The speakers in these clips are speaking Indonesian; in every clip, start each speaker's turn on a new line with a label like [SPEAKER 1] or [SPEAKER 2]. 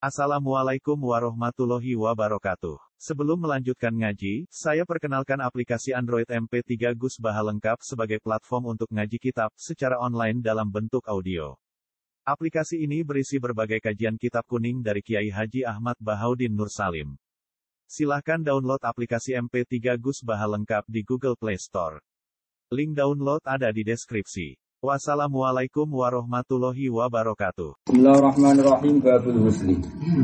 [SPEAKER 1] Assalamualaikum warahmatullahi wabarakatuh. Sebelum melanjutkan ngaji, saya perkenalkan aplikasi Android MP3 Gus Baha lengkap sebagai platform untuk ngaji kitab secara online dalam bentuk audio. Aplikasi ini berisi berbagai kajian kitab kuning dari Kiai Haji Ahmad Bahaudin Nur Salim. Silahkan download aplikasi MP3 Gus Baha lengkap di Google Play Store. Link download ada di deskripsi. Wassalamualaikum warahmatullahi wabarakatuh.
[SPEAKER 2] Bismillahirrahmanirrahim. Babul husli.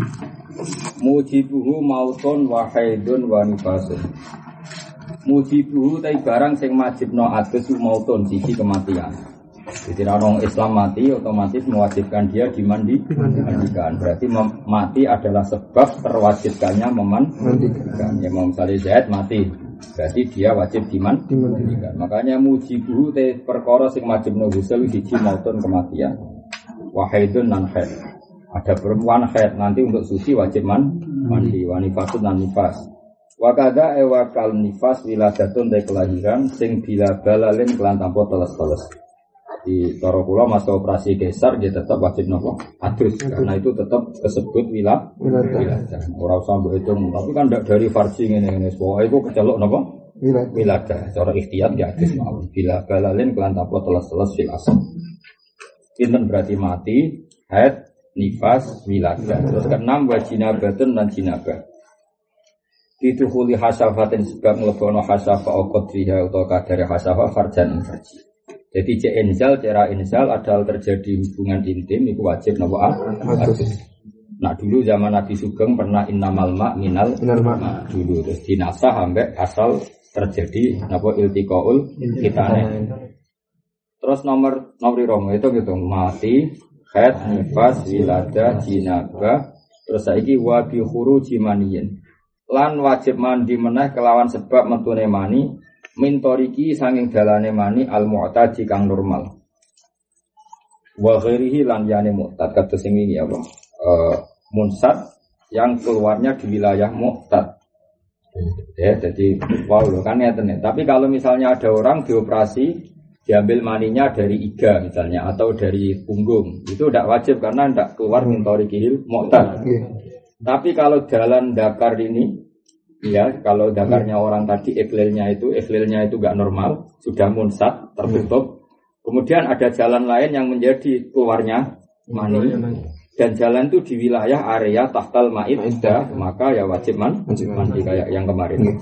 [SPEAKER 2] Mujibuhu mautun wa haidun wa nifasun. Mujibuhu tai barang sing majibno adus mautun sisi kematian. Jadi orang Islam mati otomatis mewajibkan dia dimandikan. Berarti mati adalah sebab terwajibkannya memandikan. Ya mau misalnya Zaid mati, berarti dia wajib dimandikan. Makanya mujibuhu te perkara sing wajibno ghusl siji mautun kematian. Wahidun nan haid. Ada perempuan haid nanti untuk suci wajib mandi. Wanifasun nan nifas. Wakada ewakal nifas wiladatun te kelahiran sing bila balalin kelan tanpa teles-teles. Di cara kula masa operasi kesar dia tetap wajib nopo adus karena itu tetap disebut wiladah. Ora usah mbok hitung, tapi kan ndak dari farsi ngene-ngene. Pokoke iku kecelok nopo? Wiladah. Cara ikhtiyar ya adus mawon. Bila balalin kelan tanpa teles-teles fil asal. Pinten berarti mati, haid, nifas, wiladah. Terus keenam wa jinabatun lan jinabah. Ditukhuli hasafatin sebab mlebono hasafa qadriha utawa kadare hasafa farjan farji. Jadi cara inzal adalah terjadi hubungan intim itu wajib nopo adus. Nah dulu zaman Nabi Sugeng pernah innamal ma minal ma dulu terus dinasah sampai asal terjadi nopo iltiqaul kitane. Terus nomor itu gitu mati, haid, nifas, wiladah, jinabah, terus saiki wa bi khuruji maniyin. Lan wajib mandi meneh kelawan sebab metune mani. Mintoriki sanging dalane mani al-mu'tadi kang normal. Wa ghairihi lan yani mu'tad kados sing iki apa? Munsat yang keluarnya di wilayah mu'tad. Ya, jadi wow kan ya tenan. Tapi kalau misalnya ada orang dioperasi diambil maninya dari iga misalnya atau dari punggung, itu tidak wajib karena tidak keluar mintorikil mu'tad. Tapi kalau jalan dakar ini ya, kalau dakarnya orang tadi ikhlilnya itu enggak normal, sudah munsat, tertutup. Kemudian ada jalan lain yang menjadi keluarnya mani. Dan jalan itu di wilayah area tahtal ma'iddah, maka ya wajib mandi kayak yang kemarin.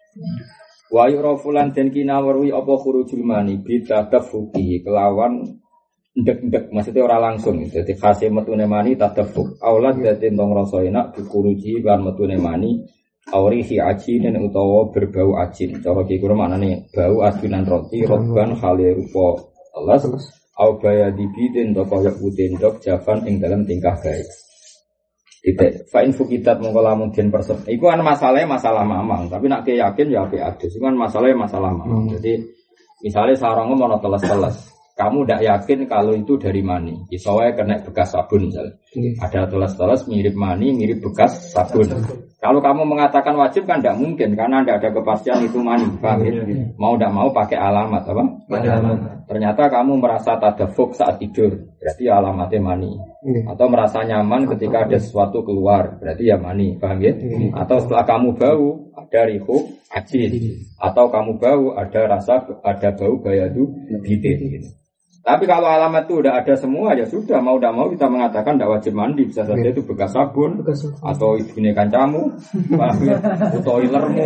[SPEAKER 2] Wa yu'rafulan den kinawerwi apa khurujul mani bitadafuki kelawan ndek-ndek maksudnya ora langsung. Jadi khase metune mani tadafuk. Aulad dadi tong rasa enak dikuruji kan metune mani. Aurihi ajinin utawa berbau ajin. Cara iki kira maknane bau adunan roti roban khale rupa teles au baya dibidin to kaya utendok javan ing dalam tingkah baik. Titik fa in fukitat mongko lamun den persep. Iku kan masalah mamang, tapi nek yakin ya apik adus. Iku kan masalah mamang. Jadi misalnya sarangmu mau teles-teles. Kamu tidak yakin kalau itu dari mani. Soalnya kena bekas sabun misalnya. Ada teles-teles mirip mani, mirip bekas sabun. Kalau kamu mengatakan wajib kan tidak mungkin karena tidak ada kepastian itu mani. Mau tidak mau pakai alamat apa? Ternyata kamu merasa tadafuk saat tidur, berarti ya alamatnya mani. Atau merasa nyaman ketika ada sesuatu keluar, berarti ya mani. Paham ya? Atau setelah kamu bau ada rihu ajin. Atau kamu bau ada bau bayadu bidin. Gitu. Tapi kalau alamat itu udah ada semua ya sudah mau tidak mau kita mengatakan tidak wajib mandi, bisa saja itu bekas sabun atau ibunya kancamu atau ilermu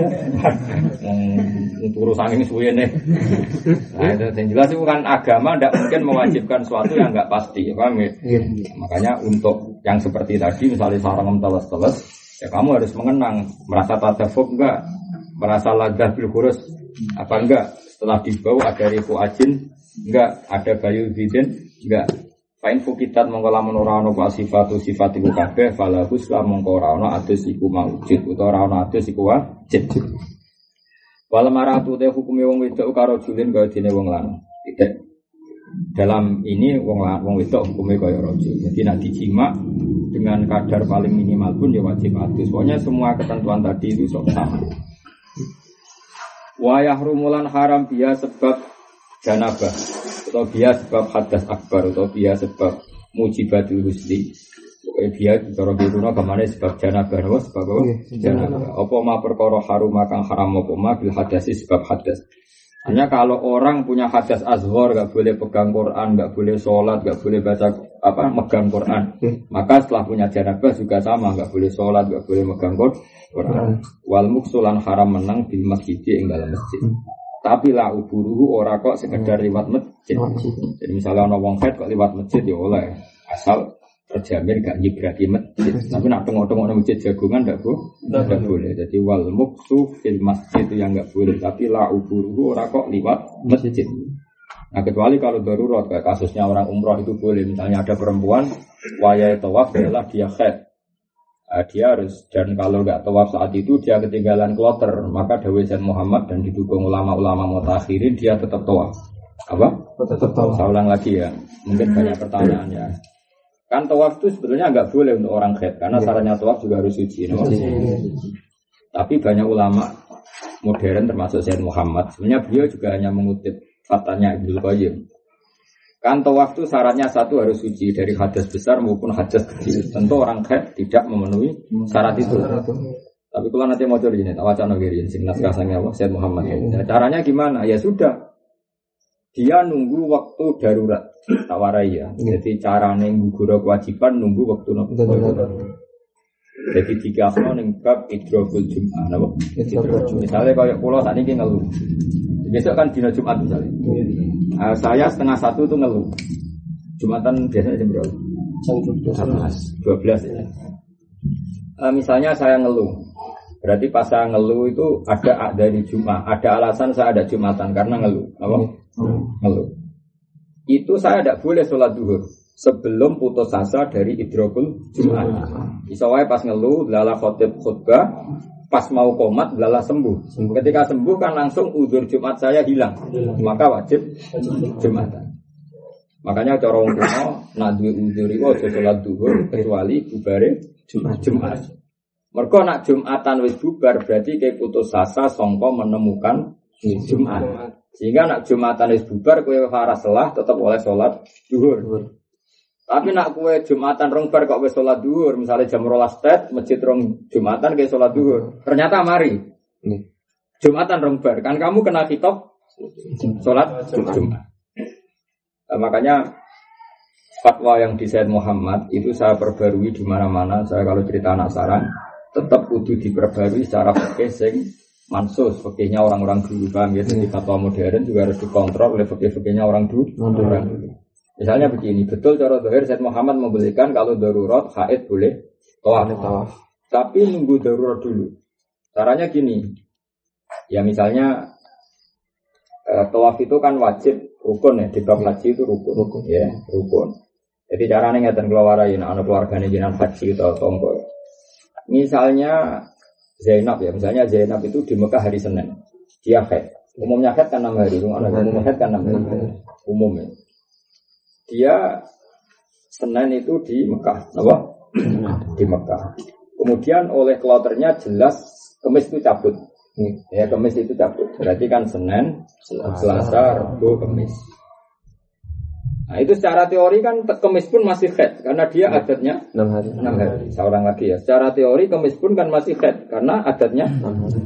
[SPEAKER 2] untuk urusan ini suwe nih. Nah itu yang jelas itu kan agama tidak mungkin mewajibkan sesuatu yang nggak pasti, paham ya? Makanya untuk yang seperti tadi misalnya sarang teles-teles ya kamu harus mengenang merasa tadafuk enggak, merasa ladah bil khurus apa enggak, setelah dibau ada rifu ajin enggak, ada bayu bidin enggak. Pain fukitat mongko lamun ora ana sifat iku kabeh falahus la mongko ora ana adus iku maujud utawa ora ana adus iku wajib. Wal maratu te hukume wong wedok karo julin kaya dene wong lanang. Tidak. Dalam ini wong wedok hukume kaya rajul. Jadi nek dijima dengan kadar paling minimal pun ya wajib adus. Pokoknya semua ketentuan tadi itu sama. Wa yahrumulan haram biya sebab janabah atau biya sebab hadas akbar atau biya sebab mujibatul husli dia cara kuno kemana sebab janabah apa sebab apa? Janabah. Apa ma perkara harum kang haram apa ma bil hadasi sebab hadas. Hanya kalau orang punya hadas azhar enggak boleh pegang Quran, enggak boleh sholat, enggak boleh baca megang Quran. Maka setelah punya janabah juga sama, enggak boleh sholat, enggak boleh megang Quran. Wal muksulan haram menang di masjid ing dalam masjid. Tapi la uburuhu ora kok sekedar liwat masjid. Jadi misalnya ana wong haid kok liwat masjid ya oleh. Asal terjamin gak nyibrati masjid. Tapi nak tengok-tengok masjid jagungan ndak boleh. Jadi wal muksu fil masjid itu yang nggak boleh. Tapi la uburuhu ora kok liwat masjid. Nah kecuali kalau darurat kayak kasusnya orang umroh itu boleh. Misalnya ada perempuan wayai tawaf adalah dia haid. Dia harus, dan kalau nggak tawaf saat itu dia ketinggalan kloter, maka dawai Sayyid Muhammad dan didukung ulama-ulama mutakhirin dia tetap tawaf. Apa? Tetap tawaf. Saya ulang lagi ya. Mungkin banyak pertanyaan ya. Kan tawaf itu sebetulnya nggak boleh untuk orang haid karena syaratnya tawaf juga harus suci. Tapi banyak ulama modern termasuk Sayyid Muhammad sebenarnya beliau juga hanya mengutip fatwanya Ibnu Qayyim. Kan tawaf itu syaratnya satu harus suci dari hadas besar maupun hadas kecil. Tentu orang haid tidak memenuhi syarat itu. Tapi kalau nanti mau coba ini, wacana giring sing naskah sange apa Sayyid Muhammad. Nah, caranya gimana? Ya sudah. Dia nunggu waktu darurat. Tawarai ya. Jadi carane nggugura kewajiban nunggu waktu darurat. Jadi jika asma ning bab idrokul Jum'ah napa? Misalnya kayak pulau saat ini ngeluh. Besok kan dina Jumat misalnya. Saya 1:30 tuh ngeluh. Jumatan biasanya jam berapa? Jam 12 ya. Misalnya saya ngeluh. Berarti pas saya ngeluh itu ada dari Jumat, ada alasan saya ada Jumatan karena ngeluh. Apa? Ngeluh. Itu saya tidak boleh sholat duhur sebelum putus asa dari idrokul Jumat. Bisa wae pas ngeluh, lala khutbah, pas mau komat, lala sembuh. Ketika sembuh kan langsung udzur Jumat saya hilang, maka wajib Jumatan. Makanya cara wong kuno nak duwe udzur iku aja sholat duhur kecuali bubare Jumat. Mergo nak Jumatan wis bubar berarti kayak putus asa sangka menemukan Jumat. Sehingga nak Jumatan wis bubar kowe ora salah tetap oleh salat zuhur. Tapi nak kowe Jumatan rong bar kok wis salat zuhur, misalnya jam 12 tet masjid rong Jumatan ke salat zuhur. Ternyata mari. Jumatan rong bar kan kamu kena kitab salat Jumat. Makanya fatwa yang di Sayyid Muhammad itu saya perbarui di mana-mana. Saya kalau cerita anak sarang tetap kudu diperbarui secara fikih sing mansus, fikihnya orang-orang dulu paham ya. Jadi fatwa modern juga harus dikontrol oleh fikih-fikihnya orang dulu. Misalnya begini, betul cara zahir Sayyid Muhammad membolehkan kalau darurat haid boleh tawaf. Tapi nunggu darurat dulu. Caranya gini. Ya misalnya tawaf itu kan wajib rukun ya, di bab haji itu rukun. Ya, rukun. Jadi caranya ngeten keluarain anak keluargane jenengan haji atau tonggo. Misalnya Zainab ya, misalnya Zainab itu di Mekah hari Senin, dia haid. Umumnya haid kan 6 hari, umumnya haid kan 6 hari, umumnya. Dia Senin itu di Mekah, apa? Di Mekah. Kemudian oleh kloternya jelas Kamis itu cabut. Ya Kamis itu cabut. Berarti kan Senin, Selasa, Rabu, Kamis. Nah itu secara teori kan Kamis pun masih haid karena dia adatnya 6 hari. Seorang lagi ya. Secara teori Kamis pun kan masih haid karena adatnya 6 hari.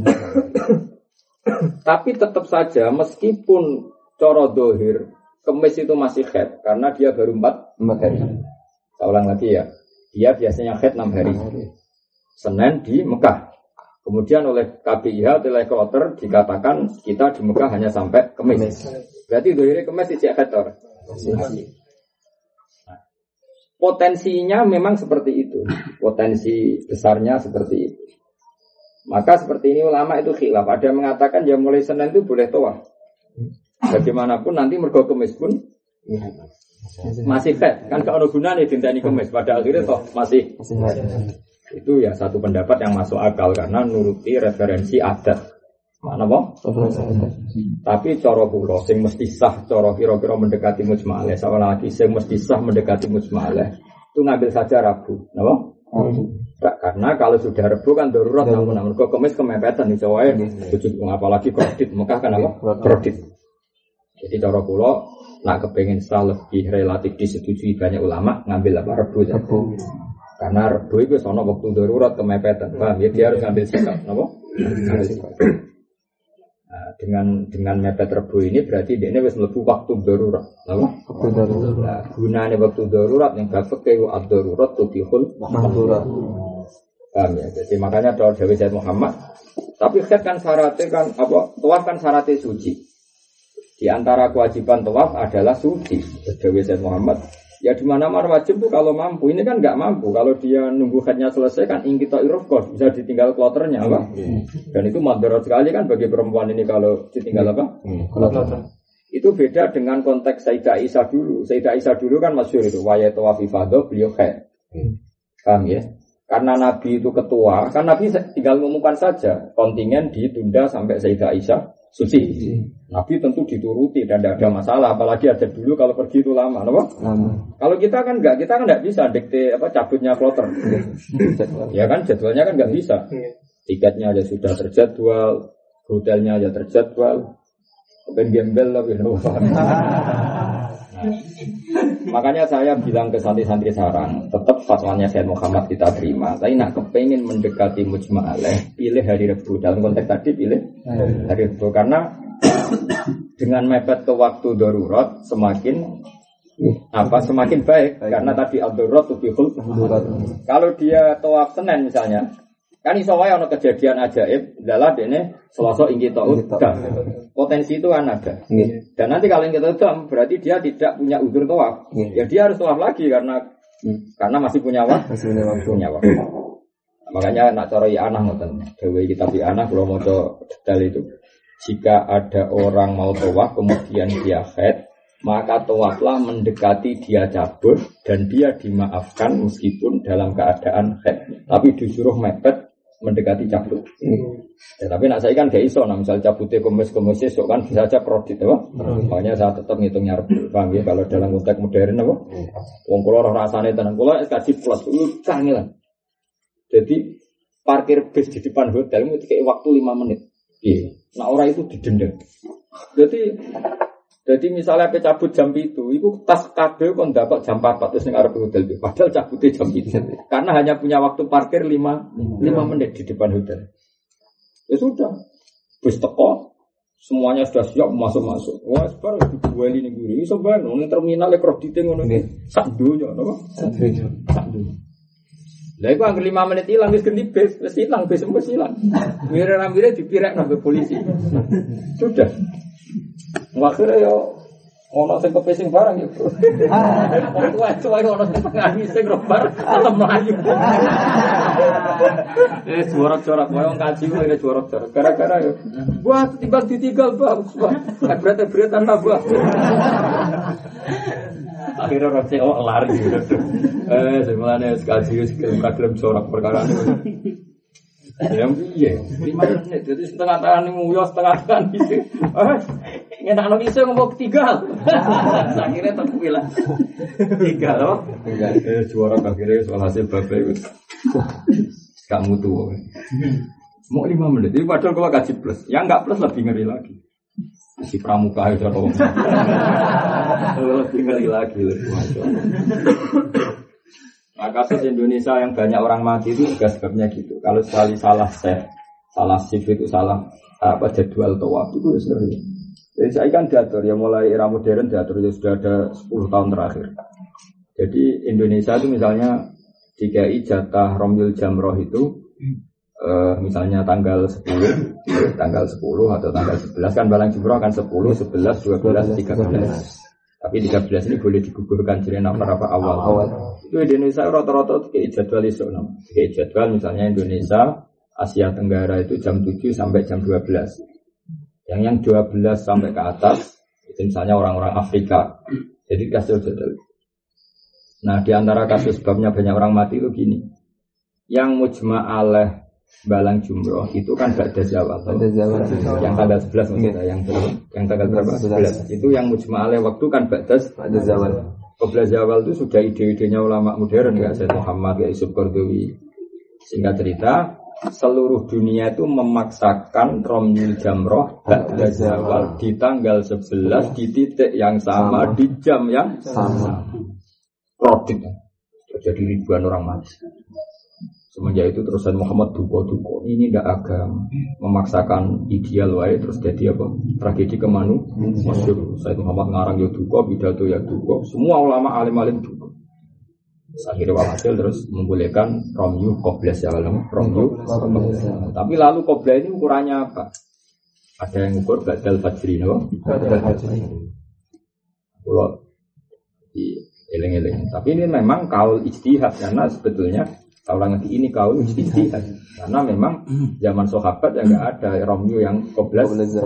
[SPEAKER 2] Tapi tetap saja meskipun coro dohir Kamis itu masih haid karena dia baru 4 hari. Seorang lagi ya. Dia biasanya haid 6 hari. Senin di Mekah. Kemudian oleh KBIH oleh kloter dikatakan kita di Mekah hanya sampai Kamis. Berarti dohirnya Kamis tidak haid. Potensinya memang seperti itu. Potensi besarnya seperti itu. Maka seperti ini ulama itu khilaf. Ada yang mengatakan ya mulai Senin itu boleh tawaf. Bagaimanapun nanti mergo Kamis pun masih haid. Kan kalau gunanya dinteni Kamis pada akhirnya toh masih itu ya satu pendapat yang masuk akal karena nuruti referensi adat. Mana boh? Tapi cara kula sing mesti sah, cara kira-kira mendekati mujmalah. Sama lagi sing mesti sah mendekati mujmalah. Itu ngambil saja Rabu, napa? Karena kalau sudah Rabu kan darurat namun kok Kamis kemepetan iso wae. Apalagi kredit, Mekah kan apa? Kredit. Jadi cara kula nak kepengin sah lebih relatif disetujui banyak ulama ngambil apa Rabu. Karena Rebo itu sono waktu darurat kemepetan, paham ya? Dia harus ngambil sikap, apa? Nah, dengan mepet Rebo ini berarti dia ini harus mlebu waktu darurat, apa? Waktu darurat. Nah, gunanya waktu darurat yang bapak kayu ad-darurat tubihul mahdurat. Paham ya? Jadi makanya doa Dewi Sayyid Muhammad. Tapi kan syaratnya kan apa? Tawaf kan syaratnya suci. Di antara kewajiban tawaf adalah suci. Dewi Sayyid Muhammad. Ya di mana-mana wajib tuh kalau mampu. Ini kan nggak mampu. Kalau dia nunggu haidnya selesai kan ingkita irofkos bisa ditinggal kloternya apa? Dan itu madarat sekali kan bagi perempuan ini kalau ditinggal apa? Kloter. Itu beda dengan konteks Sayyidah Aisyah dulu. Sayyidah Aisyah dulu kan masyhur itu waya tawaf ifadah beliau haid. Paham ya? Karena Nabi itu ketua, kan Nabi tinggal mengumumkan saja kontingen ditunda sampai Sayyidah Aisyah suci. Nabi tentu dituruti dan tidak ada masalah, apalagi ada dulu kalau pergi itu lama, apa? Kalau kita kan enggak bisa dikte apa cabutnya kloter. Ya kan jadwalnya kan enggak bisa. Tiketnya aja sudah terjadwal, hotelnya aja terjadwal. Ben gembel lah gitu. Makanya saya bilang ke santri-santri sarang, tetap fatwanya Sayyid Muhammad kita terima. Tapi nak kepengen mendekati mujma' alaih, pilih hari Rabu. Dalam konteks tadi pilih hari Rabu karena dengan mepet ke waktu darurat semakin baik karena tadi ad-darurat tubihul. Kalau dia tawaf Senin misalnya, kan iso wae ana kejadian ajaib, dalah dene Selasa inggih taun. Potensi itu kan ada. Dan nanti kalau inggih taun berarti dia tidak punya udzur tawaf. Ya dia harus tawaf lagi karena masih punya waktu. Makanya nak cara anak ngoten. Dewe kitab anak kalau maca detail itu. Jika ada orang mau tawaf kemudian dia haid, maka tawaflah mendekati dia cabut dan dia dimaafkan meskipun dalam keadaan haid. Tapi disuruh mepet mendekati cabut. Ya, tapi nak saya kan gak iso, nah misal cabutnya kemis esok kan bisa aja kredit, apa? Makanya saya tetap ngitungnya Rabu. Paham ya kalau dalam konteks modern apa? Wong kula ora rasane tenan kula SKJ plus kangelan. Jadi parkir bis di depan hotel itu kayak waktu 5 menit. Iya. Nah orang itu didenda. Jadi misalnya apa cabut jam itu tas kabel kon dapat jam 4 terus ning arep hotel itu. Padahal cabutnya jam itu. Karena hanya punya waktu parkir 5 menit di depan hotel. Ya sudah. Bus teko semuanya sudah siap masuk. Wah, sekarang dibuali ning guri iso bae nang terminal kredite ngono iki. Sak donya napa? Sak donya. Lah iku angger 5 menit ilang wis ganti bis, wis ilang bis wis ilang. Mire-mire dipirek nang polisi. Sudah. Akhirnya yo ono sing kepesing barang yo. Tuwa ono sing ngani sing robar tetep mlayu. Jorok-jorok koyo kaji kok jorok-jorok. Gara-gara yo. Buat timbang ditinggal bagus, Pak. Berat-berat nambah. Akhirnya orang CEO lari gitu. Semuanya sekali gelem jorok perkara ini. Ya, 5 menit. Jadi setengah tangan ini muyo, setengah tangan isi. Ngenak iso ngomong tinggal. Akhirnya terpilah. Tinggal loh. Jorok akhirnya soal hasil bapak itu. Gak mutu. Mau 5 menit. Jadi padahal kalau gaji plus. Yang enggak plus lebih ngeri lagi. Si pramuka itu atau lebih ngeri lagi Nah, kasus Indonesia yang banyak orang mati itu juga sebabnya gitu. Kalau sekali salah shift itu salah jadwal tawaf itu sering. Jadi saya kan diatur ya mulai era modern diatur ya sudah ada 10 tahun terakhir. Jadi Indonesia itu misalnya DKI jatah Romyul Jamroh itu misalnya tanggal 10 atau tanggal 11 kan balang jumroh akan 10, 11, 12, 13. Tapi 13 ini boleh digugurkan jadi nafar apa awal. Itu Indonesia rata-rata kayak jadwal iso kayak jadwal misalnya Indonesia Asia Tenggara itu jam 7 sampai jam 12. Yang 12 sampai ke atas itu misalnya orang-orang Afrika. Jadi kasih jadwal. Nah, di antara kasus sebabnya banyak orang mati itu gini. Yang mujma' alaih balang jumroh itu kan ba'da zawal. Yang tanggal 11 maksudnya, yang tanggal berapa? 11. Itu yang mujma' alaih waktu kan ba'da zawal. Qabla zawal itu sudah ide-idenya ulama modern ya, Sayyid Muhammad, ya Yusuf Qardawi. Singkat cerita, seluruh dunia itu memaksakan Romyul Jamroh ba'da zawal di tanggal 11 di titik yang sama di jam yang sama. Produk. terjadi ribuan orang mati. Semenjak itu terus Muhammad duko-duko, ini tidak agama, memaksakan ideal wae terus jadi apa? Tragedi masyhur. Said Muhammad ngarang ya duko, pidato ya duko, semua ulama alim-alim duko. Akhirnya walhasil terus membolehkan romyu qobles ya kalau romyu. Tapi lalu qobles ini ukurannya apa? Ada yang ukur badal fajri, no? Badal fajri. Kalau di eleng-eleng. Tapi ini memang kaul ijtihad karena sebetulnya orang ngerti ini kaul ijtihad karena memang zaman sahabat ya nggak ada romyu yang qobles.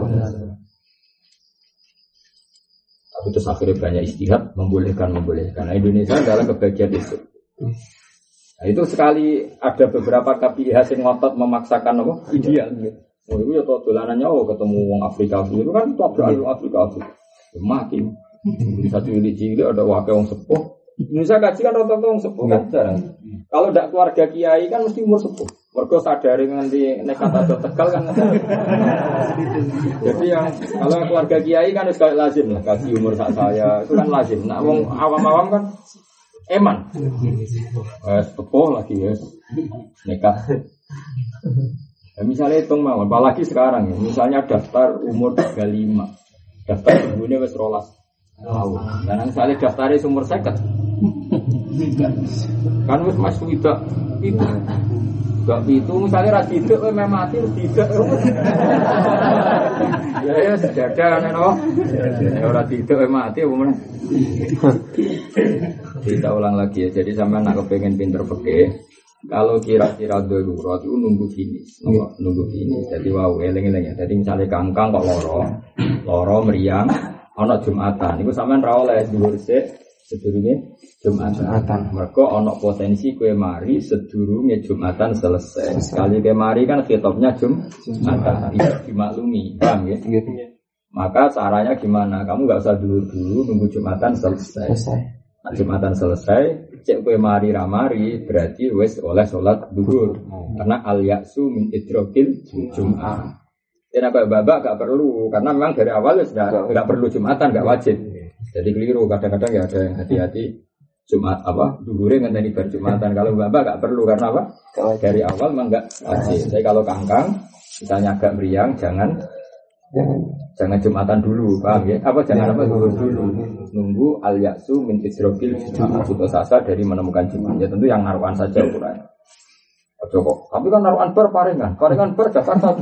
[SPEAKER 2] Tapi terus akhirnya banyak ijtihad membolehkan. Nah Indonesia adalah kebagian itu. Nah itu sekali ada beberapa KPIH yang ngotot memaksakan apa ideal. Oh itu ya dolanannya ketemu wong Afrika itu kan tabrakan Afrika mati. Bisa cilik-cilik ada wakil wong sepuh. Indonesia kaji kan rata-rata wong sepuh kan jarang. Kalau tidak keluarga kiai kan mesti umur sepuh. Mergo sadari nganti nekat atau Tegal kan. Jadi yang kalau keluarga kiai kan wis kayak lazim lah kaji umur saya itu kan lazim. Nah wong awam-awam kan eman. Sepuh lagi ya. Nekat. Ya, misalnya hitung mawon, apalagi sekarang ya. Misalnya daftar umur 35. Daftar umurnya wis 12 tahun. Dan misalnya daftarnya umur 50. Kan wis masuk itu. Gak itu misalnya ra tidak memang mati tidak. Ya sejadah kan no. Ya ora tidak mati apa meneh. Kita ulang lagi ya. Jadi sampean nak kepengin pinter fikih, kalau kira-kira darurat itu nunggu finish. Jadi wow eling-eling ya. Jadi misalnya kangkang kok loro meriang ana Jumatan. Iku sampean ra oleh dhuwur sik sedurunge Jumatan. Mergo ana potensi kowe mari sedurunge Jumatan selesai. Sekali kowe mari kan khitabnya Jumatan. Bisa dimaklumi, paham ya? Maka caranya gimana? Kamu enggak usah dulu nunggu Jumatan selesai. Nah, Jumatan selesai, cek kowe mari ramari berarti wis oleh salat zuhur. Karena al-ya'su min idrokil Jum'ah. Dan apa babak gak perlu karena memang dari awal enggak perlu Jumatan, enggak wajib. Jadi keliru kadang-kadang ya ada yang hati-hati Jumat apa zuhure ngenteni bar Jumatan. Kalau babak enggak perlu karena apa? Dari awal memang enggak wajib. Jadi kalau kangkang misalnya agak meriang jangan Jumatan dulu, paham ya? Apa jangan apa dulu nunggu al-ya'su min isrofil putus asa dari menemukan Jumat. Ya tentu yang naruhan saja ukurannya. Ojo kok. Tapi kan naruhan bar paringan bar Jakarta.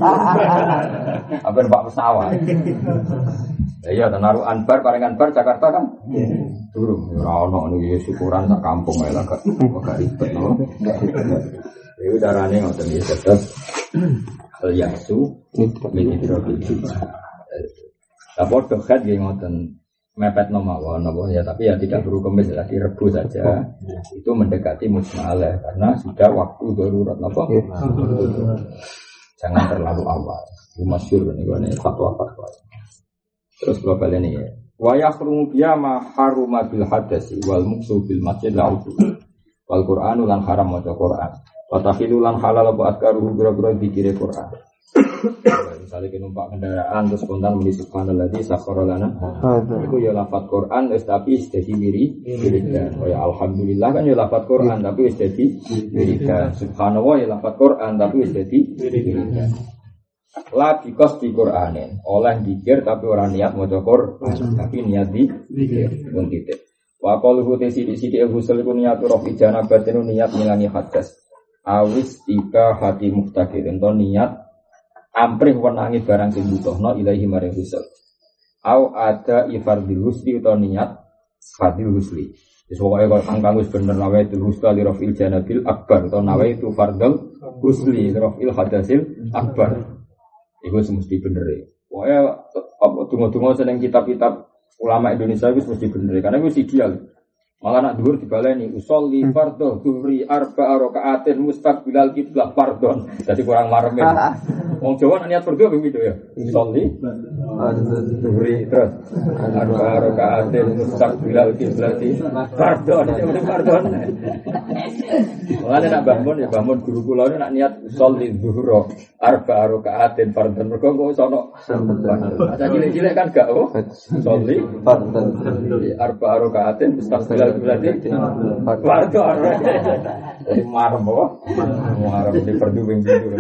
[SPEAKER 2] Apa Pak pesawat. Ya iya naruhan bar paringan bar Jakarta kan. Durung ora ono niku syukuran sak kampung ae lah gak ribet no. Ya udarane ngoten iki tetep al-ya'su min isrofil Jumat. Lapor dohet yang ngoten mepet nomawon ya tapi ya tidak perlu kemis lagi Rebu saja itu mendekati mujmalah karena sudah waktu darurat apa jangan terlalu awal masyhur ini fatwa-fatwa terus global ini ya wa yahrumu biya ma haruma bil hadasi wal muksu bil masjid la'udu wal qur'anu lan haram maca Qur'an wa takhilu lan halal apa adkaruhu bira-bira dikire Qur'an. Misalnya kita numpak kendaraan terus spontan muni subhanalladzi sakhkhara lana. Itu ya lafaz Quran tapi jadi wiridan. Oh ya alhamdulillah kan ya lafaz Quran tapi wis jadi wiridan. Subhanallah ya lafaz Quran tapi wis jadi wiridan. La bikos di Quranin. Oleh zikir tapi ora niat maca Quran tapi niat zikir. Mun titik. Wa qaluhu sidi-sidi ghusl ku niat rafi janabatin niat milani hadas. Awis tika hati muftaqir ento niat amprih wenangi barang sing butuhna ilahi maring ghusl. Au ada ifardil husli utawa niat fardil husli. Wis pokoke kok kangkang wis bener nawe itu husli li rafil janabil akbar utawa nawe itu fardul husli li rafil hadasil akbar. Iku mesti bener e. Pokoke apa donga-donga seneng kitab-kitab ulama Indonesia wis mesti bener karena wis ideal. Malah nak dhuwur dibaleni usolli fardhu dhuhri arba'a raka'atin mustaqbilal qiblah fardhon. Jadi kurang marem. Wong Jawa niat fardhu ping pindho ya. Usolli Duri terus arba rakaatin mustaqbilal kiblati fardhon. Mulane nak bangun ya bangun guru kula nak niat sholli zuhur arba rakaatin fardhon. Mergo kok iso ono masa cilik-cilik kan gak sholli fardhon arba rakaatin mustaqbilal kiblati fardhon. Jadi marem apa? Marem di perduwing gitu.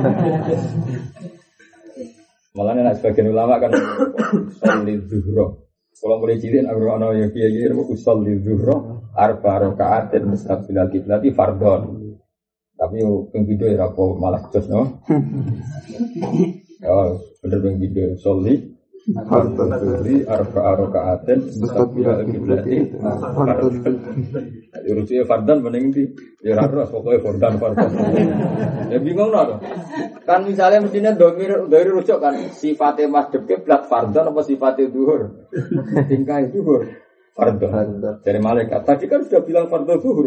[SPEAKER 2] Malah nek sebagian ulama kan sholli zuhur. Kalau mulai cilik aku ana ya kiye-kiye sholli zuhur arba rakaatin mustaqbilal kiblati fardhon. Tapi yo ping video ya apa malah jos no. Ya bener ping video sholli arba rakaatin mustaqbilal kiblati fardhon. Urusnya fardhon mending di ya ora pokoke fardhon. Ya bingung no. Kan misalnya mestinya dari rujuk kan sifatnya masjid kiblat fardhon apa sifatnya zuhur? Tingkah zuhur fardhon. Dari malaikat tadi kan sudah bilang fardhon zuhur.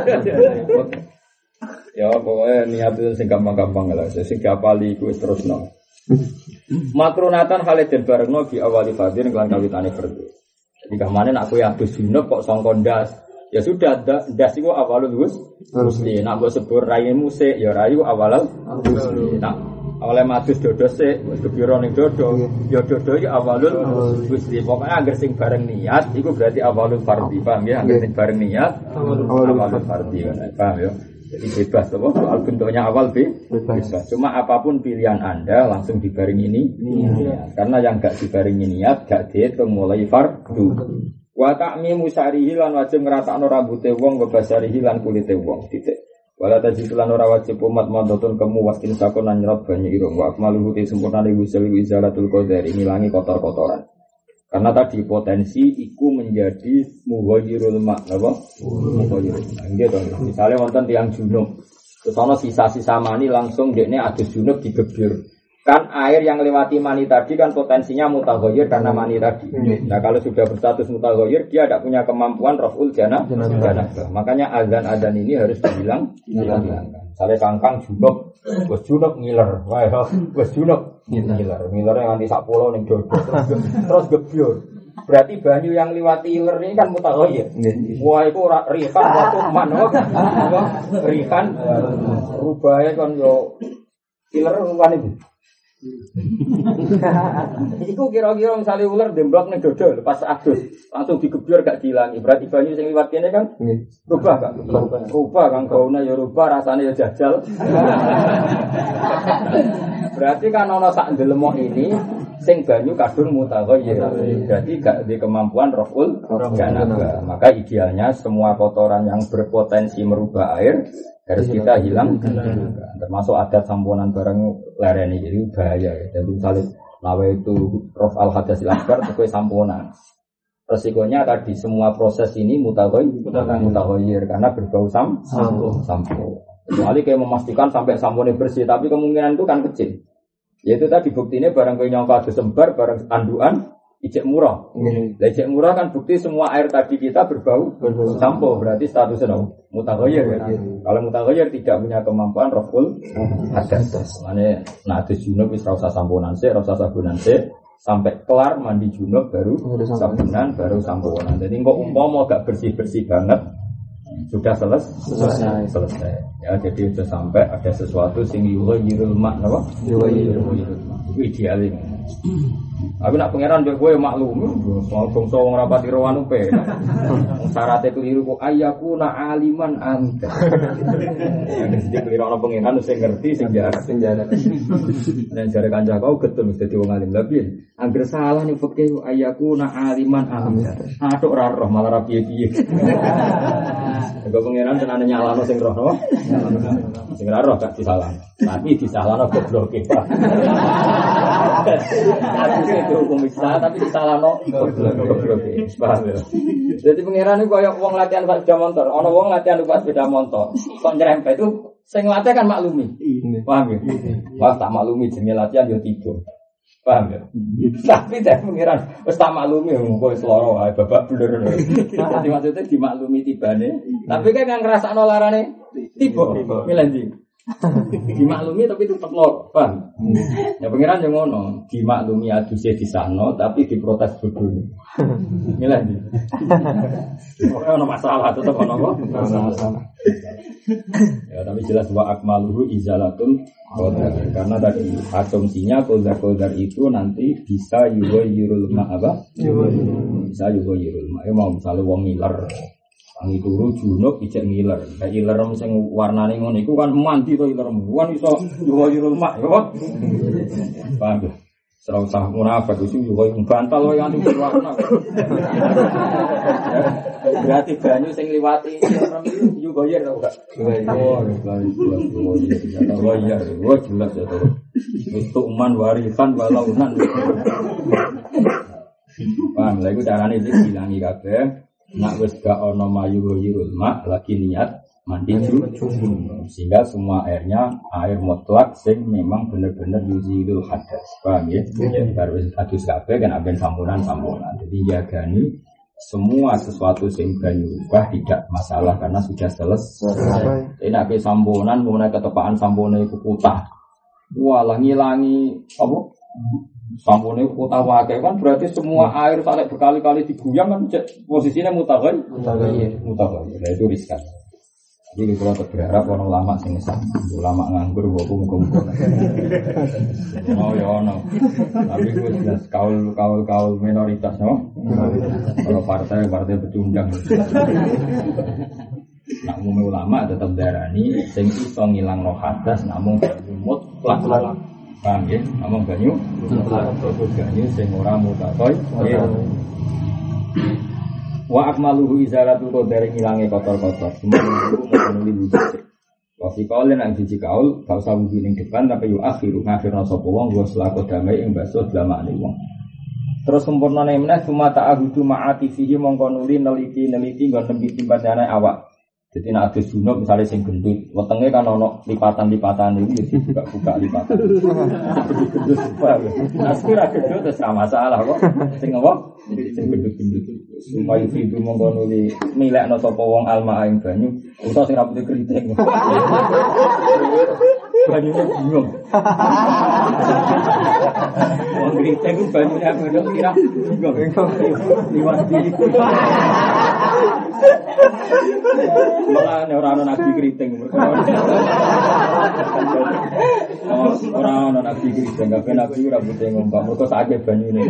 [SPEAKER 2] Ya pokoknya niat itu sing gampang-gampang lah. Sing gapali iku wis terusno. Makrunatan Khalid barengno bi awali fardhin kelan kawitane fardhu. Jadi kamane nek kowe abis junub kok sangka ndas. Ya sudah, ndas iku awalul husni. Nek mbok sebur raimu sik ya rayu awalul husni. Nek awale matus dodo sik wis kepiro ning dodo, ya dodo iki awalul husni. Pokoke anggere sing bareng niat iku berarti awalul fardhi, paham ya? Anggere sing bareng niat awalul fardhi kan. Paham ya? Jadi bebas apa? Soal bentuknya awal bebas. Cuma apapun pilihan Anda langsung dibarengi ini. Karena yang enggak dibarengi niat gak dihitung mulai fardhu. Wa ta'mimu syarihi lan wajib ngrasakno rambuté wong ngebasarihi lan kulité wong titik. Wala tajid lan ora wajib umat mandotun kemu wastin sakon lan nyerot banyu irung wa akmalu te sempurnane wusul izalatul qadari ngilangi kotor-kotoran. Karena tadi potensi iku menjadi mughayyirul ma' napa? Mughayyirul. Nggih to. Misale wonten tiyang junub, terus ana sisa-sisa mani langsung dekne adus junub digebyur. Kan air yang lewati mani tadi kan potensinya mutaghayyir karena mani tadi. Nah kalau sudah berstatus mutaghayyir dia tidak punya kemampuan raf'ul janabah. Makanya azan-azan ini harus dihilangkan. Misalnya kangkang junub, wes junub ngiler, wes junub ngiler yang nanti sak pulau ning dodo terus gebyur. Berarti banyu yang lewati iler ini kan mutaghayyir. Wah itu rihan waktu man, rihan rubahe kan yo iler rupan itu. Iku kira-kira misalnya ular demblok nih dodol pas adus langsung digebyur gak dihilangi. Berarti banyu sing liwat kene kan rubah gak? Rubah kan gaune ya rubah rasane ya jajal. Berarti kan ana sak ndelemok ini sing banyu kadung mutaghayyir. Berarti gak di kemampuan raful janabah. Maka idealnya semua kotoran yang berpotensi merubah air harus kita hilang, termasuk adat samponan barang lereni jadi bahaya. Jadi misalnya lawe itu rof al hadasil akbar itu samponan. Resikonya tadi semua proses ini mutaghayyir karena berbau sampo. Kecuali kayak memastikan sampai samponya bersih, tapi kemungkinan itu kan kecil. Yaitu tadi buktinya barang kayak nyangka disembar, barang anduan ijek murah. Ijek murah kan bukti semua air tadi kita berbau sampo, berarti statusnya mutaghayyir ya. Kalau mutaghayyir tidak punya kemampuan raful hadas. Makanya adus junub wis ora usah samponan sik, ora usah sabunan sik, sampai kelar mandi junub baru sabunan, baru samponan. Jadi kok umpama gak bersih-bersih banget sudah selesai. Ya jadi sudah sampai ada sesuatu sing yughayyirul ma' napa? Yughayyirul ma'. Itu idealnya. Aku nak pangeran mbek kowe maklum, soal bangsa wong rapati rowan upe. Syaratnya keliru kok ayyaku na aliman anta. Yang mesti keliru ana pangeran sing ngerti sing jarak. Dan jare kanca kau getun mesti wong alim lebih. Angger salah ning fikih ayyaku na aliman anta. Atuk ora roh malah ra piye-piye. Engko pangeran tenane nyalano sing roh no. Sing ora roh gak disalah. Tapi disalahno gobloke. Itu hukum Islam tapi disalahno gobloke. Paham ya? Jadi pangeran iku koyo wong latihan pas sepeda motor. Ana wong latihan pas sepeda motor. Kok nyerempet itu sing latih kan maklumi. Paham ya? Wah tak maklumi jenenge latihan yo tiba. Paham ya? Tapi dari pangeran wis tak maklumi kowe seloro wae babak blur. Jadi maksudnya dimaklumi tibane. Tapi kan ngrasakno larane tiba. Milih ndi? Dimaklumi tapi tetap lor, paham? Ya pengiran yang ngono, dimaklumi adusnya di sana tapi diprotes bodoh. Inilah ini. Pokoknya ada masalah tetap ada apa? Masalah. Ya tapi jelas wa akmaluhu izalatun qadar. Karena tadi asumsinya qadar itu nanti bisa yughayirul ma apa? Bisa yughayirul ma. Ya mau misalnya wong ngiler wangi turu junub ijek ngiler. Kayak ngiler sing warnane ngono iku kan mandi to ngiler. Kan iso yughayirul ma ya apa? Paham. Serau sah munafik itu juga bantal wae anti warna. Berarti banyu sing liwati juga yer to enggak? Oh, iya, jelas ya to. Itu man warisan walaunan. Paham, lha iku carane dibilangi kabeh. Nak wis gak ana mayu yirul mak lagi niat mandi junub sehingga semua airnya air mutlak sing memang benar-benar yuzilul hadas. Paham ya? Harus hadus kabeh kan aben sampunan. Jadi jagani semua sesuatu sing banyu ubah tidak masalah karena sudah selesai. Nek sampunan mulai ketepaan sampune iku putah. Walah ngilangi apa? Sampune kota wae kan berarti semua air sampai berkali-kali diguyang kan posisinya mutaghayir. Nah itu riskan. Jadi kalau berharap orang ulama sing ulama nganggur wae muga-muga. Oh ya ono. Tapi gue jelas kaul minoritas no. Kalau partai pecundang. Nak umum ulama tetap darani sing iso ngilangno hadas namung mutlak. Paham ya? Namung banyu mutlak. Banyu sing ora mutakoy. Wa akmaluhu izalatu qadari ngilange kotor-kotor. Semua itu memenuhi wujud. Wa fi qaulin an siji kaul gak usah wudu ning depan tapi yu akhiru ngafirna sapa wong wa selako damai ing baso damakne wong. Terus sempurnane meneh cuma ta'ahudu ma'ati fihi mongko nuli neliti nggon nembi timbane awak. Jadi nek adus junub misalnya sing gendut, wetenge kan ono lipatan-lipatan iki buka lipatan. Nah, sekira gendut wis ora masalah kok. Sing apa? Sing gendut-gendut. Supaya itu mongko nuli milekno sapa wong alma ing banyu, utawa sing rambute kriting. Banyune bingung. Wong kriting ku banyune aku kira bingung. Liwat iki. Malah ora ana nabi kriting ora ana nabi kriting kabeh nabi ora butuh ngomong mergo sakake banyune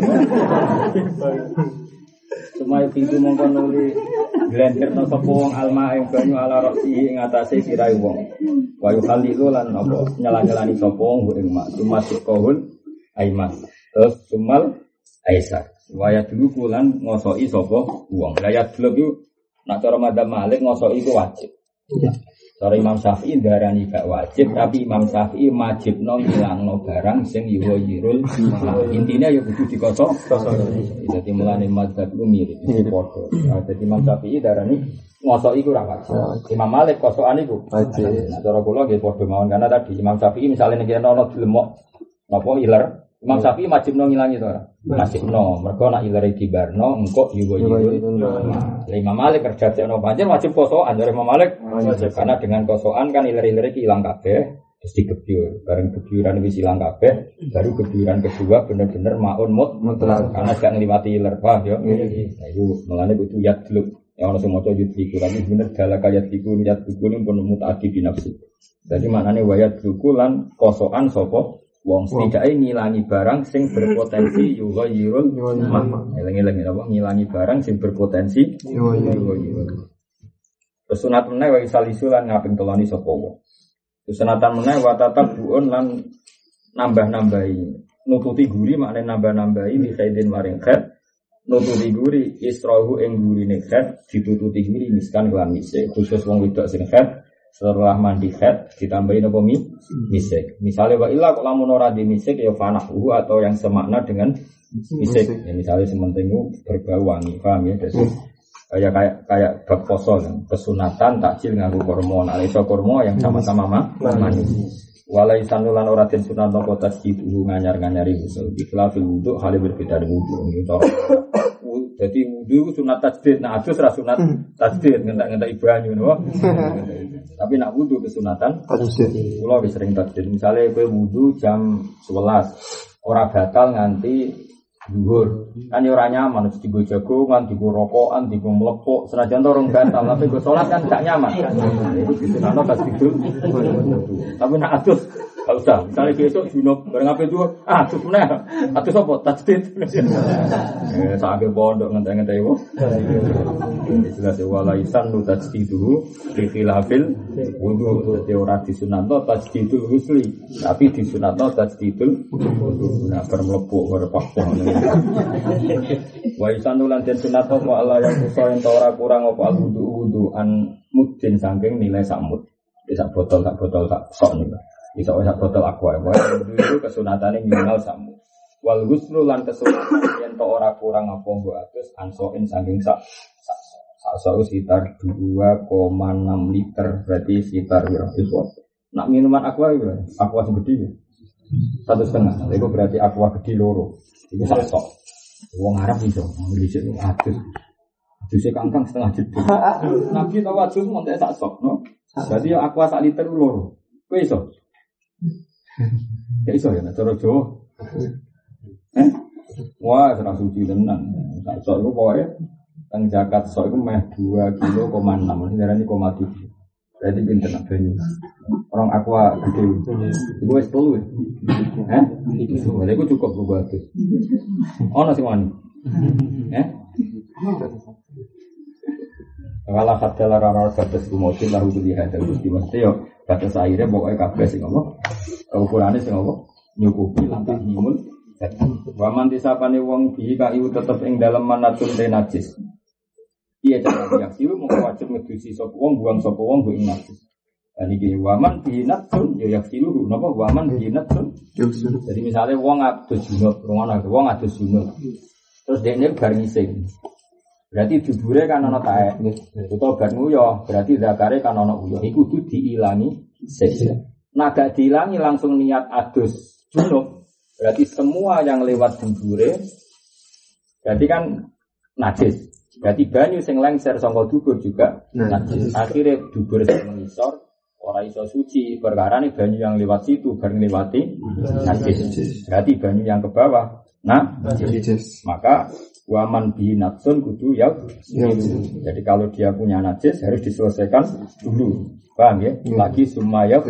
[SPEAKER 2] Sumai itu mongko nuli glenderno sapa wong alma ing banyu ala roksi ing atase sirahe wong wa yukhalilu lan apa nyala-nyalani sapa wong ing mak masuk kohun aiman terus sumal aisar waya dulu kulan ngosoki sapa wong layat dulu yo nak cara madzhab Malik ngosoki iku wajib. Cara Imam Syafi'i darani gak wajib, tapi Imam Syafi'i wajibno ngilangno barang sing yughayirul. Intine ya kudu dikosok. Dadi mulane madzhab ku mirip padha. Dadi Imam Syafi'i darani ngosoki iku ora wajib. Imam Malik kosokan iku wajib. Nah cara kula nggih padha mawon karena tadi Imam Syafi'i misale nek ana dilemok napa iler Imam Syafi'i wajib no ngilangi to ora? Wajib no. Mergo nek ilare dibarno engko yughayirul. Imam Malik kerja ono pancen wajib kosokan dari Imam Malik. Karena dengan kosokan kan ilare-ilare ki ilang kabeh, terus digebyur. Bareng gebyuran wis ilang kabeh, baru gebyuran kedua bener-bener maun mutlak. Karena gak ngliwati iler, paham ya? Nah iku melane kudu yadluk. Ya ono sing maca yudhiku tapi bener dalaka yadhiku ini pun mutaati binafsi. Jadi maknane wayat duku lan kosokan sapa wong setidaknya ngilangi barang sing berpotensi yughayirul ma. Eling-eling apa ngilangi barang sing berpotensi yughayirul. Sunat meneh wa isalisu lan ngaping teloni sapa wong. Sunatan meneh wa tatabbuun lan nambah-nambahi. Nututi guri maknane nambah-nambahi li khaidin maring khaid. Nututi guri israhu ing gurine khaid ditututi guri miskan kelan misik. Khusus wong wedok sing khaid setelah mandi khaid ditambahin apa misik. Misalnya wa illa kok lamun ora di misik ya fanahu atau yang semakna dengan misik. Ya misalnya sementing berbau wangi, paham ya? Jadi kayak bab poso kan, kesunatan takjil nganggo kurma, nek iso kurma yang sama-sama manis. Walai sanulan ora den sunat napa tasjidu nganyar-nganyari usul. Ikhlafil wudu hale berbeda dengan wudu. Jadi wudu sunat tajdid, nah adus ra sunat tajdid, ngentak-ngentak banyu napa. Tapi nak wudu kesunatan tajdid. Kula wis sering tajdid. Misale kowe wudu jam 11, ora batal nganti dhuwur. Kan ya ora nyaman mesti digo jagongan, digo rokokan, digo mlepok, senajan to rong batal, tapi go salat kan gak nyaman. Sunatno tajdid. Tapi nak adus gak usah, misalnya besok junub, bareng apa itu, terus mana? Atus apa? Tajdid. Sampai pondok ngentai-ngentai itu. Jelas ya, walaisan lu tajdidu, rifilafil, wudu, teori disunatno tajdidul husli, tapi disunatno tajdidul, nah bermelepuk, berpakpon. Waisan lu lantin sunatno, wa Allah yang susah yang tora kurang, apa al-wudu an mudin sangking nilai samud. Sak botol tak sok nih. Bisa sak botol aqua. Itu kesunatannya minimal samu. Wal ghuslu lan kesunatan yen to ora kurang apa nggo atus ansoin saking sak sekitar 2,6 liter berarti sekitar berapa itu. Nak minuman aqua itu aqua segede 1,5. Itu berarti aqua gede loro. Itu sak sok. Wong Arab iso nglisik atus. Aduse kangkang setengah jeduk. Nabi tahu adus montek sak sok, no. Jadi aqua sak liter loro. Kowe iso? Ya iso ya, cara Jawa. Wah, serang suci tenan. Sak sok iku pokoke teng zakat sok iku meh 2,6 kilo, darane 0,7. Berarti pinten banyu. Orang aqua gede. Iku wis 10. Iku cukup go bagus. Ono sing wani. Kalau kata lara-lara batas kumodin lalu dilihat dari mesti yo batas airnya pokoknya kabeh sing apa ukurannya sing apa nyukupi lantas nimun. Waman disapane wong bi kayu tetep ing dalem manatun najis. Iya cara yaksilu mung wajib ngedusi sapa wong buang sapa wong go ing najis. Dan iki waman bi natun yo yaksilu napa waman bi natun. Jadi misalnya wong adus junub, wong adus junub. Terus dekne bar ngising. Berarti dubure kan ana taek. Utawa bar nguyoh, berarti zakare kan ana uyuh. Iku kudu diilangi sik. Nah gak diilangi langsung niat adus junub. Berarti semua yang lewat dubure berarti kan najis. Berarti banyu sing lengser saka dubur juga najis. Akhire dubur sing ngisor ora iso suci perkarane banyu yang lewat situ bareng lewati najis. Berarti banyu yang ke bawah najis. Maka waman bi natsun kudu ya. Jadi kalau dia punya najis harus diselesaikan dulu. Paham ya? Lagi sumaya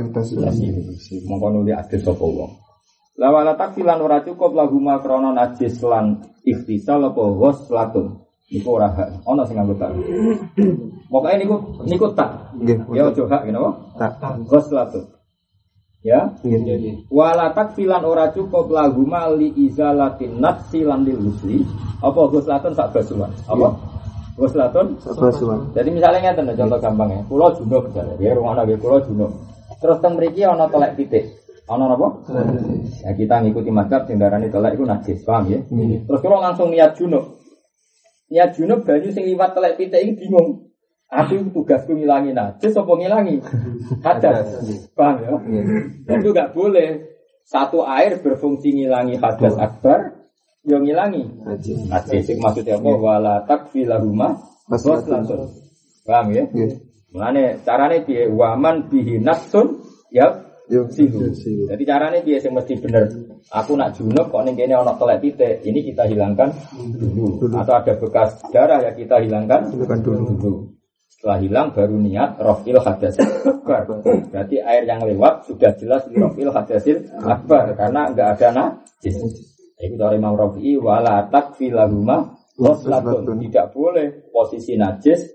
[SPEAKER 2] mongko nuli adus sapa wong. La wala takfilan ora cukup lahuma krana najis lan ikhtisal apa ghuslatun. Niku ora hak. Ana sing nganggo tak. Pokoke niku tak. Ya aja hak ngene apa? Tak. Ghuslatun. Ya, wala takfilan ora cukup lahuma li izalatin nafsi lan lil husli. Apa ghuslatun sak basuhan? Apa? Ghuslatun sak basuhan. Jadi misalnya ngeten contoh gampang ya. Kula junub jare, ya rumono nggih kula junub. Terus teng mriki ana telek pitik. Ana napa? Ya kita ngikuti mazhab sing darani telek iku najis, paham ya? Terus kula langsung niat junub. Niat junub banyu sing liwat telek pitik iki bingung. Aku tugasku ngilangi najis apa ngilangi hadas, paham ya? Itu gak boleh satu air berfungsi ngilangi hadas akbar, yang ngilangi najis. Maksudnya apa? Wala takfi lahuma ghuslatun, paham ya? Mulane carane piye? Waman bihi natsun ya sihu. Jadi carane piye sing mesti bener? Aku nak junub kok ning kene ana telek pitik, ini kita hilangkan dulu. Atau ada bekas darah ya kita hilangkan dulu. Setelah hilang baru niat rafil hadasil akbar. Berarti air yang lewat sudah jelas rafil hadasil akbar karena enggak ada najis. Itu dari Imam Rafi'i wala takfi lahuma ghuslatun. Tidak boleh posisi najis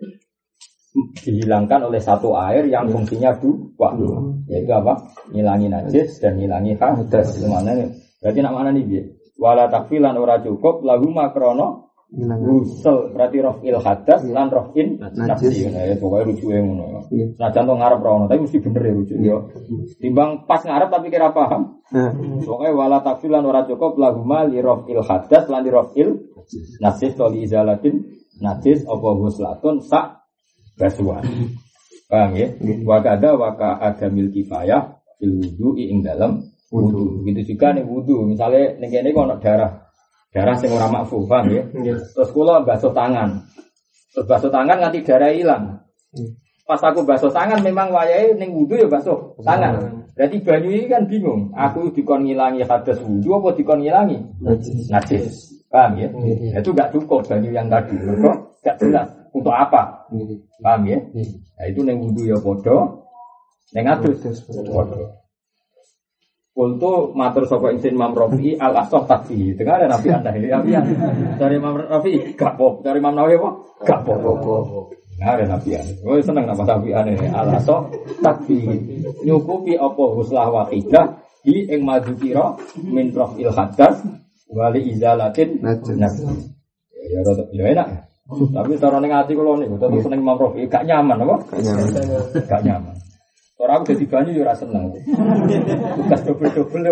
[SPEAKER 2] dihilangkan oleh satu air yang fungsinya dua. Yaitu apa? Ngilangi najis dan ngilangi hadas. Mana berarti nak mana nih? Wala takfi lan ora cukup lahuma krana Gusel berarti rafil hadas lan rafin najis. Ya pokoke rujuke ngono. Nah contoh ngarep rono tapi mesti bener ya rujuk yo. Timbang pas ngarep tapi kira paham. Pokoke wala takfilan ora cukup lahuma li rafil hadas lan li rafil najis to li izalatin najis apa guslatun sak basuhan. Paham ya? Wa kada wa ka adamil kifayah fil wudu'i ing dalam wudu. Begitu juga nih wudu. Misalnya ning kene kok ana darah. Darah sing ora makfu, paham ya? Terus kula basuh tangan. Terus basuh tangan nganti darah hilang. Pas aku basuh tangan memang wayahe ning wudu ya basuh tangan. Berarti banyu ini kan bingung. Aku dikon ngilangi hadas wudu apa dikon ngilangi najis. Paham ya? Itu enggak cukup banyu yang tadi. Kok enggak jelas untuk apa? Paham ya? Nah, itu ning wudu ya padha, ning adus padha. Kultu matur sapa insin Imam Rafi'i al-asah tadi. Dengar ada Nabi Anda ini. Dari Imam Rafi'i gak pop, dari Imam Nawawi apa? Gak pop. Nah, ada Nabi Anda. Oh, seneng nama Nabi Anda ini. Al-asah tadi. Nyukupi apa huslah waqidah di ing madzukira min raf'il hadas wali izalatin najis. Ya enak. Tapi cara ning ati kula niku tetep seneng Imam Rafi'i gak nyaman apa? Gak nyaman. Orang aku jadi banyu ya rasa seneng. Tugas double-double ya,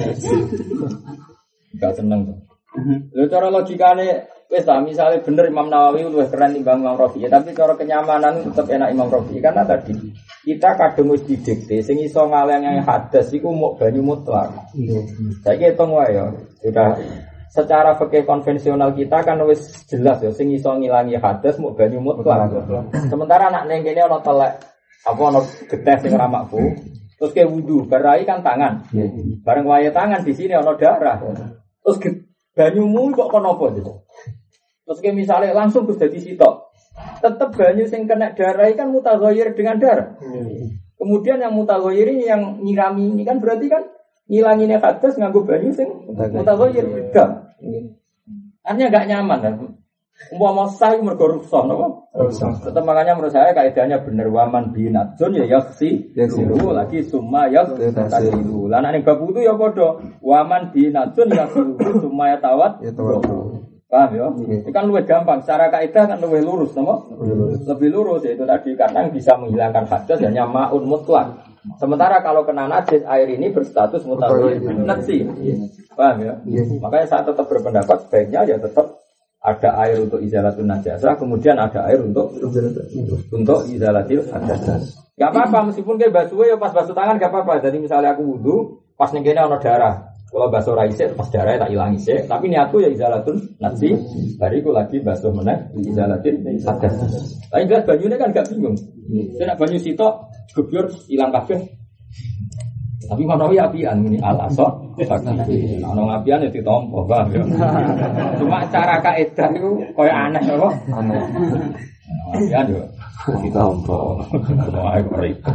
[SPEAKER 2] gak seneng tuh. Lalu cara logikanya, wes lah misalnya bener Imam Nawawi lebih keren timbang Imam Rafi'i, tapi cara kenyamanan tetap enak Imam Rafi'i karena tadi kita kadung wis didikte, sing iso ngaleng hadas iku mau banyu mutlak. Saya hitung wae ya, sudah secara fikih konvensional kita kan wis jelas ya, sing iso ngilangi hadas mau banyu mutlak. Sementara anak neng kene ana telek apa ono getih sing ora makfu terus ke wudu barai kan tangan bareng wae tangan di sini ono darah terus banyumu kok kono apa gitu terus ke misalnya langsung Gus dadi sitok tetep banyu sing kena darah kan mutaghayyir dengan darah kemudian yang mutaghayyir ini yang nyirami ini kan berarti kan ngilangine hadas nganggo banyu sing mutaghayyir beda artinya enggak nyaman kan umpama sah mergo ruksah napa? Tetep makanya menurut saya kaidahnya bener waman binatsun ya yaksi dulu lagi summa yaksilu. Lah nek bab wudu ya padha waman binatsun yaksi summa tawat. Paham ya? Itu kan lebih gampang secara kaidah kan lebih lurus napa? Lebih lurus itu tadi karena bisa menghilangkan hadas hanya maun mutlak. Sementara kalau kena najis air ini berstatus mutaghayyir najis. Paham ya? Makanya saya tetap berpendapat sebaiknya ya tetap ada air untuk izalatun najasah, kemudian ada air untuk izalatil hadas. Gak apa-apa meskipun kayak basuh ya pas basuh tangan gak apa-apa. Jadi misalnya aku wudu, pas ning kene ana darah. Kalau basuh ra isik pas darahnya tak ilangi sik, tapi niatku ya izalatun najis. Bariku lagi basuh meneh izalatil hadas. Tapi jelas banyune kan gak bingung. Nek banyu sitok gebyur ilang kabeh. Tapi Manawi apian ini al-asah. Ana ngapian ya ditampa, Bang. Cuma cara kaidah itu koyo aneh apa? Aneh. Apian yo ditampa. Wah, repot.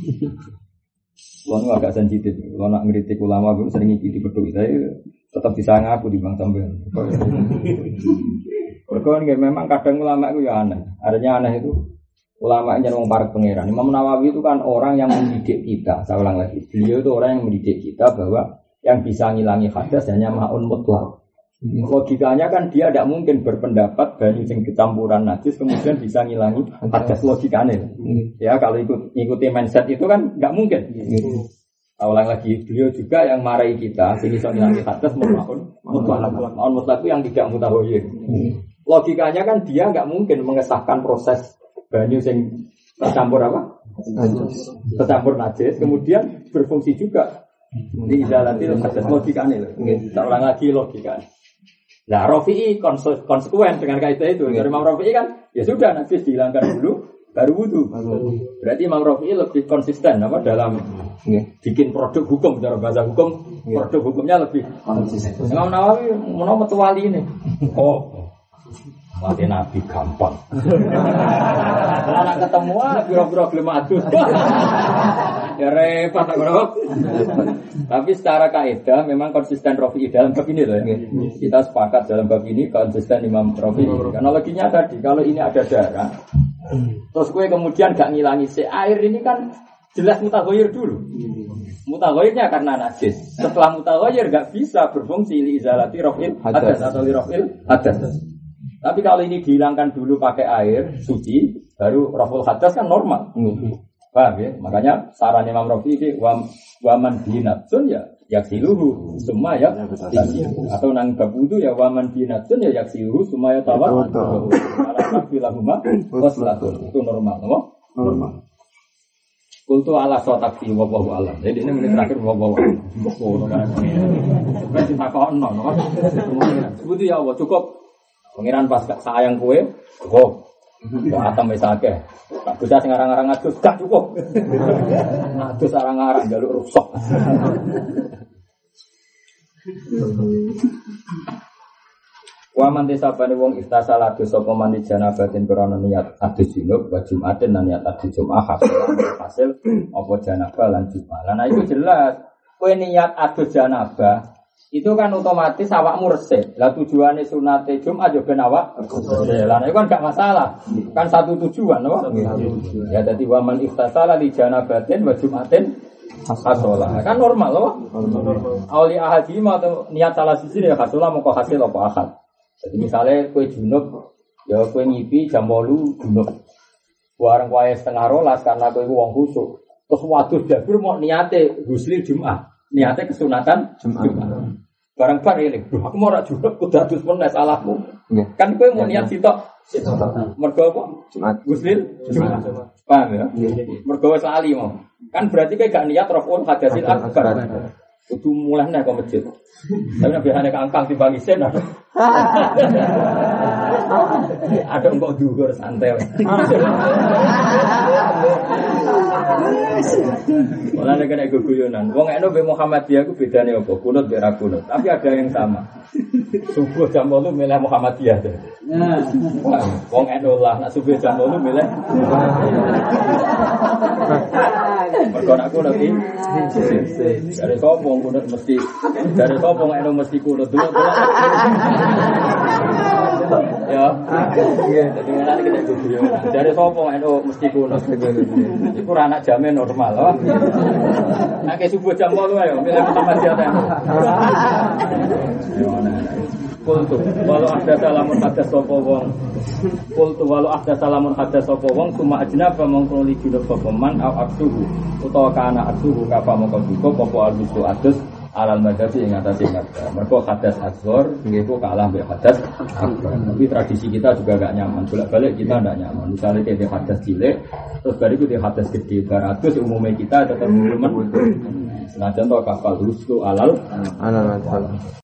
[SPEAKER 2] Kulo agak sensitif. Kulo nak ngritik ulama pun sering ngikuti peduli. Saya tetap bisa ngaku di bang sampean. Perkara memang kadang ulama itu ya aneh. Artinya aneh itu ulama yang wong parek pangeran. Imam Nawawi itu kan orang yang mendidik kita. Saya ulang lagi, beliau itu orang yang mendidik kita bahwa yang bisa ngilangi hadas hanya maun mutlak. Logikanya kan dia tidak mungkin berpendapat banyu sing kecampuran najis kemudian bisa ngilangi hadas logikanya. Ya kalau ikuti mindset itu kan nggak mungkin. Saya ulang lagi, beliau juga yang marahi kita sing bisa ngilangi hadas maun mutlak. Maun mutlak itu yang tidak mutaghayyir. Logikanya kan dia nggak mungkin mengesahkan proses banyu sing tercampur apa? Najis. Tercampur najis, kemudian berfungsi juga di izalatil hadas logikane lho. Nggih, tak ulang lagi logikane. Nah, Rafi'i konsekuen dengan kaidah itu. Dari Imam Rafi'i kan ya sudah najis dihilangkan dulu baru wudu. Berarti Imam Rafi'i lebih konsisten apa dalam bikin produk hukum secara bahasa hukum, produk hukumnya lebih konsisten. Imam Nawawi menawa metu wali ini. Oh, mati Nabi gampang. Kalau nak ketemu biro-biro gelem adus. Ya repot bro. Tapi secara kaidah memang konsisten Rafi'i dalam bab ini loh. Kita sepakat dalam bab ini konsisten Imam Rafi'i. Karena loginya tadi kalau ini ada darah, terus gue kemudian gak ngilangi air ini kan jelas mutaghayyir dulu. Mutaghayyirnya karena najis. Setelah mutaghayyir gak bisa berfungsi li izalati raf'il hadas atau li raf'il hadas. Tapi kalau ini dihilangkan dulu pakai air suci, baru raful hadas kan normal. Paham ya? Makanya saran Imam Rafi'i ini waman binatsun ya yaksiluhu semua ya atau nang bab wudu ya waman binatsun ya yaksiluhu semua ya tawat. Alamat bilahuma waslatun itu normal, normal. Kultu ala sotakfi wallahu alam. Jadi ini menit terakhir wallahu alam. Ngono kan. Wis ditakono no. Sebuti ya Allah cukup. Pangeran pas sayang kowe, cukup. Kok atam wis akeh. Tak bisa sing arang-arang adus gak cukup. Adus arang-arang njaluk rusak. Wa man desabane wong istasala dosa apa mandi janabatin krana niat adus junub wa jumaten lan niat adus jumat hasil apa janabah lan jumat. Lah iku jelas kowe niat adus janabah itu kan otomatis awakmu resik. Lah tujuane sunate Jumat yo ben awak. Lah iku kan gak masalah. Kan satu tujuan apa? Ya dadi wa man istasala li janabatin wa jumaten hasolah. Kan normal loh. Auli ahadi atau niat salah sisi ya hasolah moko hasil apa akad. Jadi misalnya kue junub, ya kue ngipi jam 8 junub. Bareng kue setengah rolas karena kue wong khusuk. Terus waduh jabir mau niate husli Jumat, niate kesunatan Jumat. Bareng bar ini, aku mau rak junub kudu adus meneh salahmu. Kan kue mau niat sitok. Mergo apa? Jumat. Husli Jumat. Paham ya? Mergo wis lali mau. Kan berarti kue gak niat raful hadasil akbar. Kudu mulai nih ke masjid. Tapi biasanya kangkang timbang isen ada. Ada engkau dugur santai. Malah nek kena guyonan. Wong eno be Muhammadiyah ku bedane apa? Kunut be ra kunut. Tapi ada yang sama. Subuh jam 8 milih Muhammadiyah. Wong eno lah nek subuh jam 8 milih. Mergo aku nanti dari sopong kunut mesti dari sopong eno mesti kunut dulu. Ya. Jadi nanti kita gugur. Dari sopong eno mesti kunut. Iku ora anak jamin normal loh. Nek subuh jam 8 ayo milih Muhammadiyah ta. Kultu walau ada salamun hadas sapa wong. Kultu walau ada salamun hadas sapa wong cuma ajnaba mongko li junub sapa man au aksuhu utawa kana aksuhu kafa mongko cukup apa albisu adus alal madhabi ing atase madhab. Mergo hadas asghar nggih kok kalah mbek hadas akbar. Tapi tradisi kita juga gak nyaman. Bolak-balik kita ndak nyaman. Misalnya kayak hadas cilik terus bariku di hadas gede 200 umumnya kita tetap demen. Senajan to kapal rusu alal madhab.